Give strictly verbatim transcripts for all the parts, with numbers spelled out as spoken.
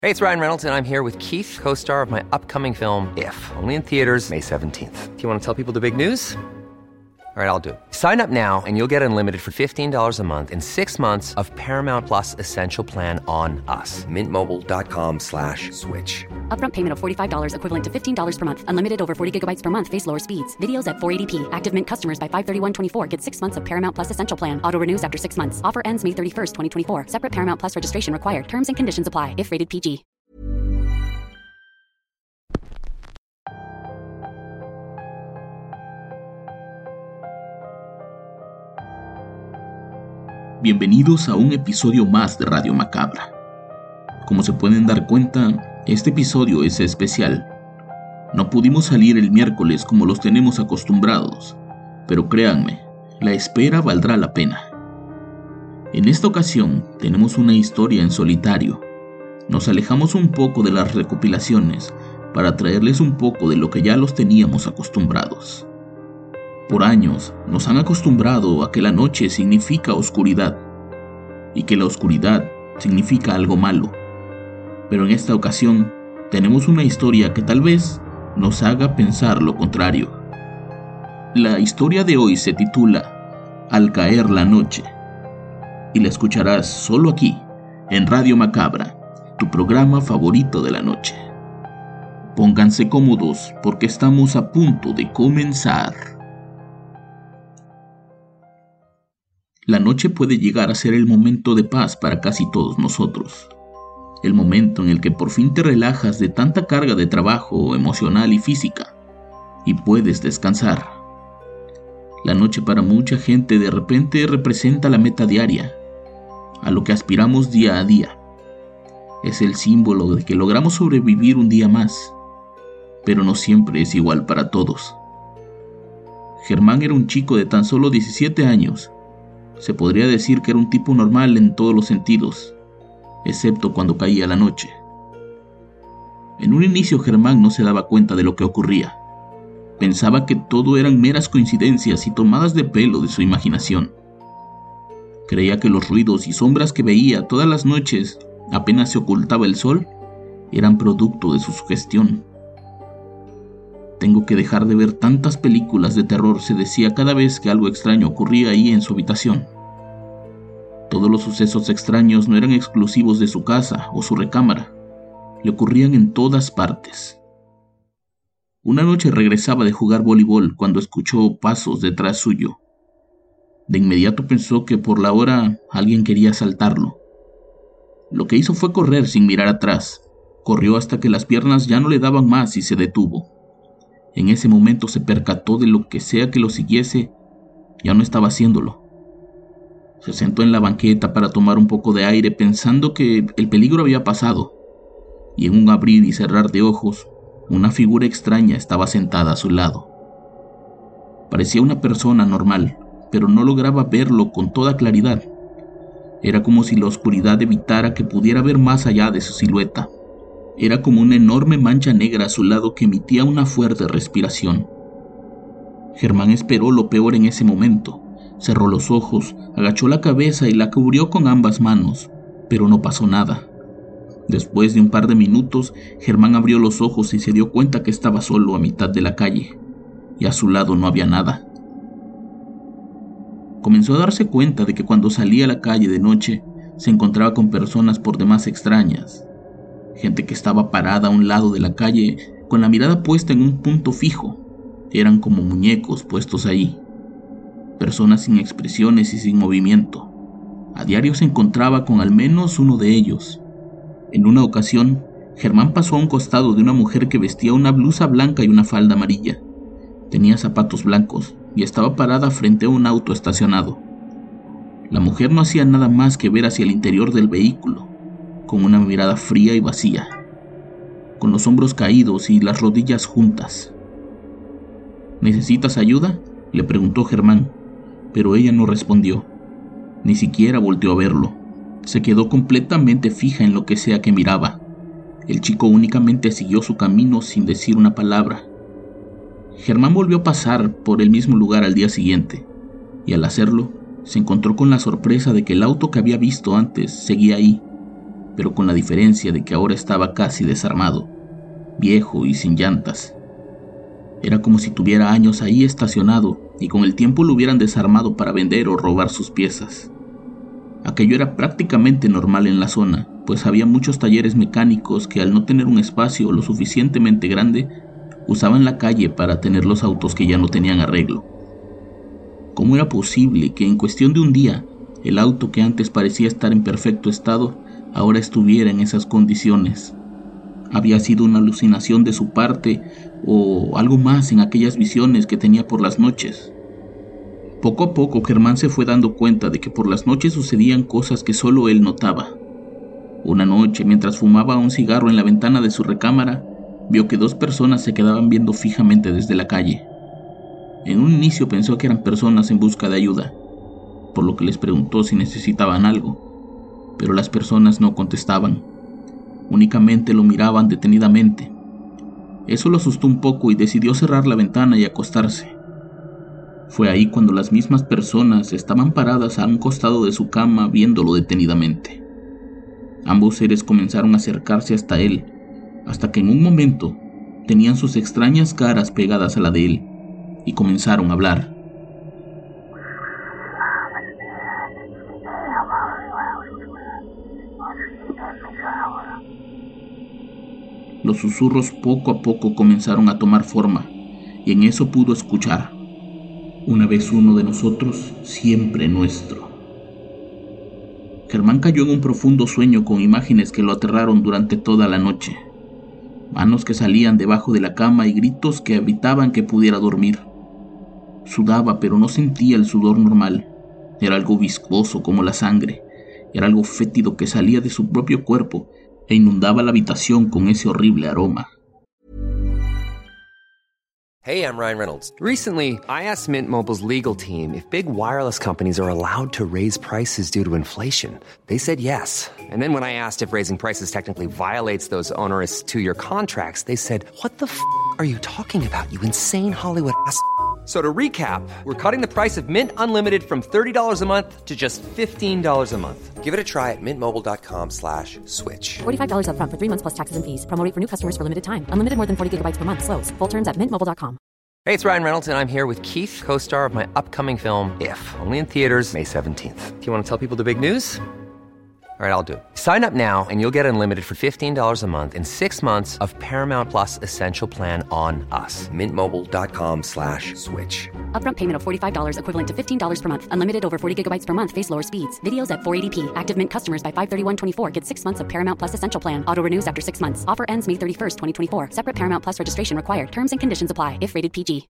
Hey, it's Ryan Reynolds, and I'm here with Keith, co-star of my upcoming film, If, only in theaters May seventeenth. Do you want to tell people the big news? All right, I'll do it. Sign up now and you'll get unlimited for fifteen dollars a month and six months of Paramount Plus Essential Plan on us. Mint Mobile dot com slash switch. Upfront payment of forty-five dollars equivalent to fifteen dollars per month. Unlimited over forty gigabytes per month. Face lower speeds. Videos at four eighty p. Active Mint customers by five thirty-one twenty-four get six months of Paramount Plus Essential Plan. Auto renews after six months. Offer ends May thirty-first, twenty twenty-four. Separate Paramount Plus registration required. Terms and conditions apply if rated P G. Bienvenidos a un episodio más de Radio Macabra. Como se pueden dar cuenta, este episodio es especial. No pudimos salir el miércoles como los tenemos acostumbrados, pero créanme, la espera valdrá la pena. En esta ocasión tenemos una historia en solitario. Nos alejamos un poco de las recopilaciones para traerles un poco de lo que ya los teníamos acostumbrados. Por años nos han acostumbrado a que la noche significa oscuridad y que la oscuridad significa algo malo. Pero en esta ocasión tenemos una historia que tal vez nos haga pensar lo contrario. La historia de hoy se titula Al caer la noche y la escucharás solo aquí en Radio Macabra, tu programa favorito de la noche. Pónganse cómodos porque estamos a punto de comenzar. La noche puede llegar a ser el momento de paz para casi todos nosotros. El momento en el que por fin te relajas de tanta carga de trabajo emocional y física y puedes descansar. La noche para mucha gente de repente representa la meta diaria, a lo que aspiramos día a día. Es el símbolo de que logramos sobrevivir un día más, pero no siempre es igual para todos. Germán era un chico de tan solo diecisiete años. Se podría decir que era un tipo normal en todos los sentidos, excepto cuando caía la noche. En un inicio Germán no se daba cuenta de lo que ocurría. Pensaba que todo eran meras coincidencias y tomadas de pelo de su imaginación. Creía que los ruidos y sombras que veía todas las noches, apenas se ocultaba el sol, eran producto de su sugestión. Tengo que dejar de ver tantas películas de terror, se decía cada vez que algo extraño ocurría ahí en su habitación. Todos los sucesos extraños no eran exclusivos de su casa o su recámara, le ocurrían en todas partes. Una noche regresaba de jugar voleibol cuando escuchó pasos detrás suyo. De inmediato pensó que por la hora alguien quería asaltarlo. Lo que hizo fue correr sin mirar atrás. Corrió hasta que las piernas ya no le daban más y se detuvo. En ese momento se percató de lo que sea que lo siguiese, ya no estaba haciéndolo. Se sentó en la banqueta para tomar un poco de aire pensando que el peligro había pasado, y en un abrir y cerrar de ojos, una figura extraña estaba sentada a su lado. Parecía una persona normal, pero no lograba verlo con toda claridad. Era como si la oscuridad evitara que pudiera ver más allá de su silueta. Era como una enorme mancha negra a su lado que emitía una fuerte respiración. Germán esperó lo peor en ese momento. Cerró los ojos, agachó la cabeza y la cubrió con ambas manos, pero no pasó nada. Después de un par de minutos, Germán abrió los ojos y se dio cuenta que estaba solo a mitad de la calle, y a su lado no había nada. Comenzó a darse cuenta de que cuando salía a la calle de noche, se encontraba con personas por demás extrañas. Gente que estaba parada a un lado de la calle con la mirada puesta en un punto fijo. Eran como muñecos puestos ahí. Personas sin expresiones y sin movimiento. A diario se encontraba con al menos uno de ellos. En una ocasión, Germán pasó a un costado de una mujer que vestía una blusa blanca y una falda amarilla. Tenía zapatos blancos y estaba parada frente a un auto estacionado. La mujer no hacía nada más que ver hacia el interior del vehículo, con una mirada fría y vacía, con los hombros caídos y las rodillas juntas. ¿Necesitas ayuda?, le preguntó Germán, pero ella no respondió. Ni siquiera volteó a verlo. Se quedó completamente fija en lo que sea que miraba. El chico únicamente siguió su camino sin decir una palabra. Germán volvió a pasar por el mismo lugar al día siguiente, y al hacerlo, se encontró con la sorpresa de que el auto que había visto antes seguía ahí. pero con la diferencia de que ahora estaba casi desarmado, viejo y sin llantas. Era como si tuviera años ahí estacionado y con el tiempo lo hubieran desarmado para vender o robar sus piezas. Aquello era prácticamente normal en la zona, pues había muchos talleres mecánicos que al no tener un espacio lo suficientemente grande, usaban la calle para tener los autos que ya no tenían arreglo. ¿Cómo era posible que en cuestión de un día, el auto que antes parecía estar en perfecto estado, ahora estuviera en esas condiciones? ¿Había sido una alucinación de su parte o algo más en aquellas visiones que tenía por las noches? Poco a poco Germán se fue dando cuenta de que por las noches sucedían cosas que solo él notaba. Una noche, mientras fumaba un cigarro en la ventana de su recámara, vio que dos personas se quedaban viendo fijamente desde la calle. En un inicio pensó que eran personas en busca de ayuda, por lo que les preguntó si necesitaban algo, pero las personas no contestaban, únicamente lo miraban detenidamente. Eso lo asustó un poco y decidió cerrar la ventana y acostarse. Fue ahí cuando las mismas personas estaban paradas a un costado de su cama viéndolo detenidamente. Ambos seres comenzaron a acercarse hasta él, hasta que en un momento tenían sus extrañas caras pegadas a la de él y comenzaron a hablar. Los susurros poco a poco comenzaron a tomar forma y en eso pudo escuchar: una vez uno de nosotros, siempre nuestro. Germán cayó en un profundo sueño con imágenes que lo aterraron durante toda la noche. Manos que salían debajo de la cama y gritos que evitaban que pudiera dormir. Sudaba, pero no sentía el sudor normal. Era algo viscoso como la sangre. Era algo fétido que salía de su propio cuerpo e inundaba la habitación con ese horrible aroma. Hey, I'm Ryan Reynolds. Recently, I asked Mint Mobile's legal team if big wireless companies are allowed to raise prices due to inflation. They said yes. And then when I asked if raising prices technically violates those onerous two-year contracts, they said, "What the f*** are you talking about, you insane Hollywood ass?" So to recap, we're cutting the price of Mint Unlimited from thirty dollars a month to just fifteen dollars a month. Give it a try at mintmobile.com slash switch. forty-five dollars up front for three months plus taxes and fees. Promo rate for new customers for limited time. Unlimited more than forty gigabytes per month. Slows full terms at mint mobile dot com. Hey, it's Ryan Reynolds, and I'm here with Keith, co-star of my upcoming film, If, only in theaters May seventeenth. Do you want to tell people the big news? All right, I'll do it. Sign up now and you'll get unlimited for fifteen dollars a month and six months of Paramount Plus Essential Plan on us. Mintmobile.com slash switch. Upfront payment of forty-five dollars equivalent to fifteen dollars per month. Unlimited over forty gigabytes per month. Face lower speeds. Videos at four eighty p. Active Mint customers by five thirty-one twenty-four get six months of Paramount Plus Essential Plan. Auto renews after six months. Offer ends May thirty-first, twenty twenty-four. Separate Paramount Plus registration required. Terms and conditions apply if rated P G.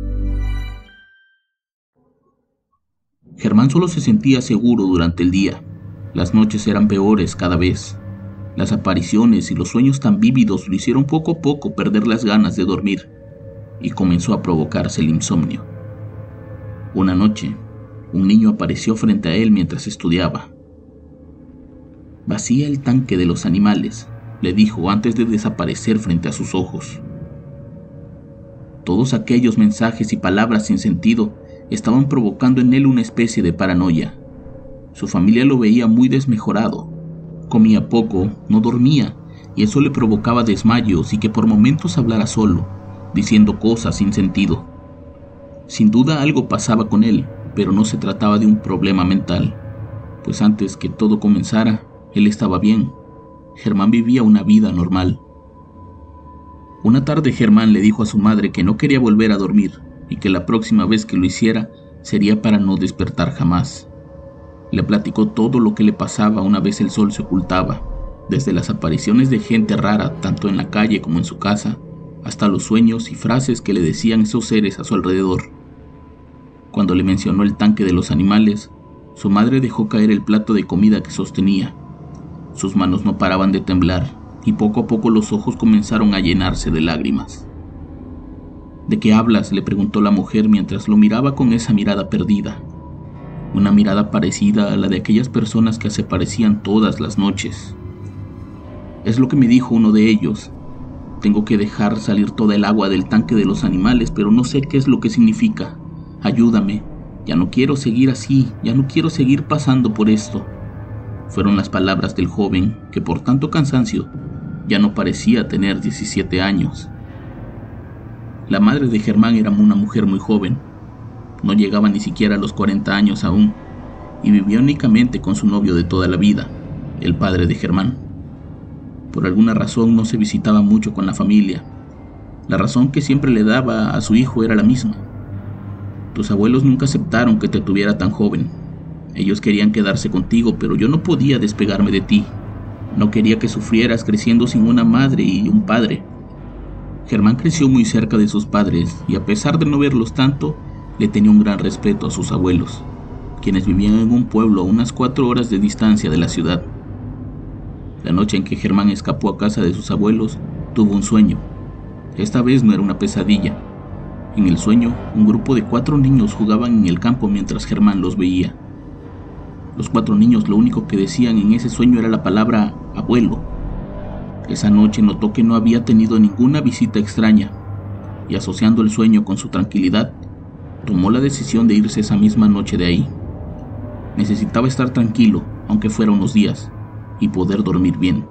Germán solo se sentía seguro durante el día. Las noches eran peores cada vez. Las apariciones y los sueños tan vívidos lo hicieron poco a poco perder las ganas de dormir y comenzó a provocarse el insomnio. Una noche, un niño apareció frente a él mientras estudiaba. «Vacía el tanque de los animales», le dijo antes de desaparecer frente a sus ojos. Todos aquellos mensajes y palabras sin sentido estaban provocando en él una especie de paranoia. Su familia lo veía muy desmejorado. Comía poco, no dormía, y eso le provocaba desmayos y que por momentos hablara solo, diciendo cosas sin sentido. Sin duda algo pasaba con él, pero no se trataba de un problema mental, pues antes que todo comenzara, él estaba bien. Germán vivía una vida normal. Una tarde Germán le dijo a su madre que no quería volver a dormir y que la próxima vez que lo hiciera sería para no despertar jamás. Le platicó todo lo que le pasaba una vez el sol se ocultaba, desde las apariciones de gente rara tanto en la calle como en su casa, hasta los sueños y frases que le decían esos seres a su alrededor. Cuando le mencionó el tanque de los animales, su madre dejó caer el plato de comida que sostenía. Sus manos no paraban de temblar y poco a poco los ojos comenzaron a llenarse de lágrimas. «¿De qué hablas?», le preguntó la mujer mientras lo miraba con esa mirada perdida. Una mirada parecida a la de aquellas personas que se parecían todas las noches. «Es lo que me dijo uno de ellos. Tengo que dejar salir toda el agua del tanque de los animales, pero no sé qué es lo que significa. Ayúdame. Ya no quiero seguir así, ya no quiero seguir pasando por esto». Fueron las palabras del joven que por tanto cansancio ya no parecía tener diecisiete años. La madre de Germán era una mujer muy joven, no llegaba ni siquiera a los cuarenta años aún, y vivía únicamente con su novio de toda la vida, el padre de Germán. Por alguna razón no se visitaba mucho con la familia. La razón que siempre le daba a su hijo era la misma. Tus abuelos nunca aceptaron que te tuviera tan joven. Ellos querían quedarse contigo, pero yo no podía despegarme de ti. No quería que sufrieras creciendo sin una madre y un padre. Germán creció muy cerca de sus padres y a pesar de no verlos tanto, le tenía un gran respeto a sus abuelos, quienes vivían en un pueblo a unas cuatro horas de distancia de la ciudad. La noche en que Germán escapó a casa de sus abuelos, tuvo un sueño. Esta vez no era una pesadilla. En el sueño, un grupo de cuatro niños jugaban en el campo mientras Germán los veía. Los cuatro niños lo único que decían en ese sueño era la palabra abuelo. Esa noche notó que no había tenido ninguna visita extraña, y asociando el sueño con su tranquilidad, tomó la decisión de irse esa misma noche de ahí. Necesitaba estar tranquilo, aunque fuera unos días, y poder dormir bien.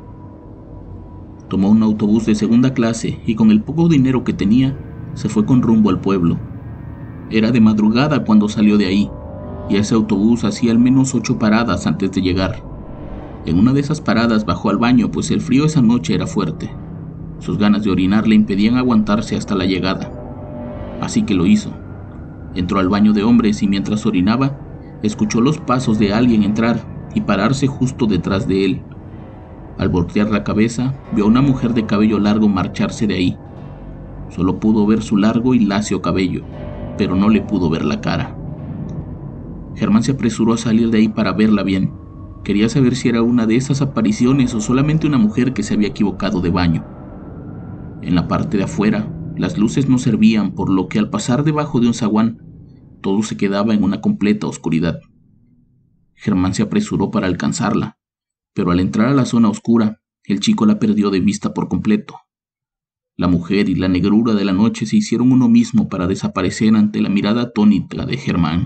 Tomó un autobús de segunda clase y con el poco dinero que tenía, se fue con rumbo al pueblo. Era de madrugada cuando salió de ahí, y ese autobús hacía al menos ocho paradas antes de llegar. En una de esas paradas bajó al baño, pues el frío esa noche era fuerte. Sus ganas de orinar le impedían aguantarse hasta la llegada. Así que lo hizo. Entró al baño de hombres y mientras orinaba, escuchó los pasos de alguien entrar y pararse justo detrás de él. Al voltear la cabeza, vio a una mujer de cabello largo marcharse de ahí. Solo pudo ver su largo y lacio cabello, pero no le pudo ver la cara. Germán se apresuró a salir de ahí para verla bien. Quería saber si era una de esas apariciones o solamente una mujer que se había equivocado de baño. En la parte de afuera, las luces no servían, por lo que al pasar debajo de un zaguán, todo se quedaba en una completa oscuridad. Germán se apresuró para alcanzarla, pero al entrar a la zona oscura, el chico la perdió de vista por completo. La mujer y la negrura de la noche se hicieron uno mismo para desaparecer ante la mirada atónita de Germán.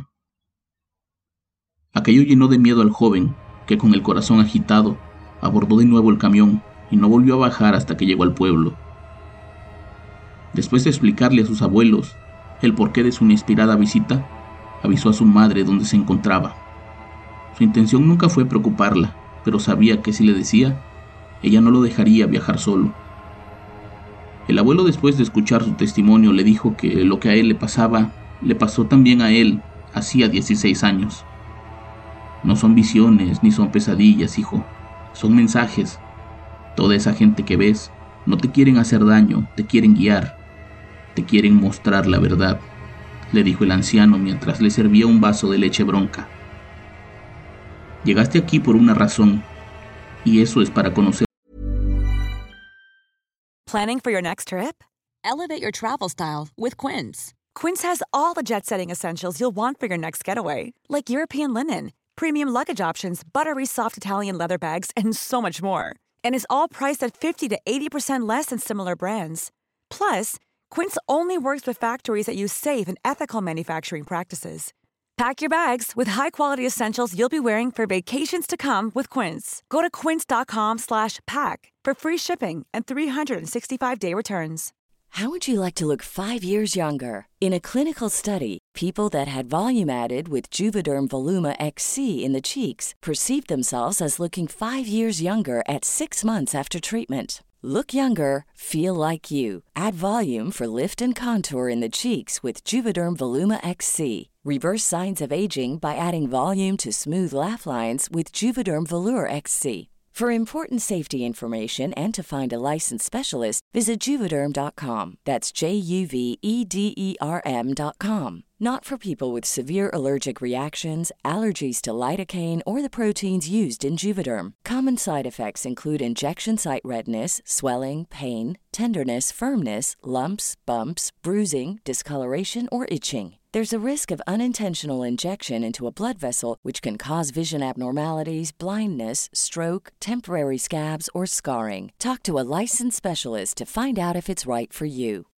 Aquello llenó de miedo al joven, que con el corazón agitado, abordó de nuevo el camión y no volvió a bajar hasta que llegó al pueblo. Después de explicarle a sus abuelos el porqué de su inesperada visita, avisó a su madre dónde se encontraba. Su intención nunca fue preocuparla, pero sabía que si le decía, ella no lo dejaría viajar solo. El abuelo, después de escuchar su testimonio, le dijo que lo que a él le pasaba, le pasó también a él hacía dieciséis años. No son visiones ni son pesadillas, hijo, son mensajes. Toda esa gente que ves no te quieren hacer daño, te quieren guiar, te quieren mostrar la verdad, le dijo el anciano mientras le servía un vaso de leche bronca. Llegaste aquí por una razón, y eso es para conocer. Planning for your next trip? Elevate your travel style with Quince. Quince has all the jet-setting essentials you'll want for your next getaway, like European linen, premium luggage options, buttery soft Italian leather bags, and so much more. And is all priced at fifty to eighty percent less than similar brands. Plus, Quince only works with factories that use safe and ethical manufacturing practices. Pack your bags with high-quality essentials you'll be wearing for vacations to come with Quince. Go to quince.com slash pack for free shipping and three sixty-five day returns. How would you like to look five years younger? In a clinical study, people that had volume added with Juvederm Voluma X C in the cheeks perceived themselves as looking five years younger at six months after treatment. Look younger, feel like you. Add volume for lift and contour in the cheeks with Juvederm Voluma X C. Reverse signs of aging by adding volume to smooth laugh lines with Juvederm Volure X C. For important safety information and to find a licensed specialist, visit Juvederm dot com. That's J U V E D E R M dot com. Not for people with severe allergic reactions, allergies to lidocaine, or the proteins used in Juvederm. Common side effects include injection site redness, swelling, pain, tenderness, firmness, lumps, bumps, bruising, discoloration, or itching. There's a risk of unintentional injection into a blood vessel, which can cause vision abnormalities, blindness, stroke, temporary scabs, or scarring. Talk to a licensed specialist to find out if it's right for you.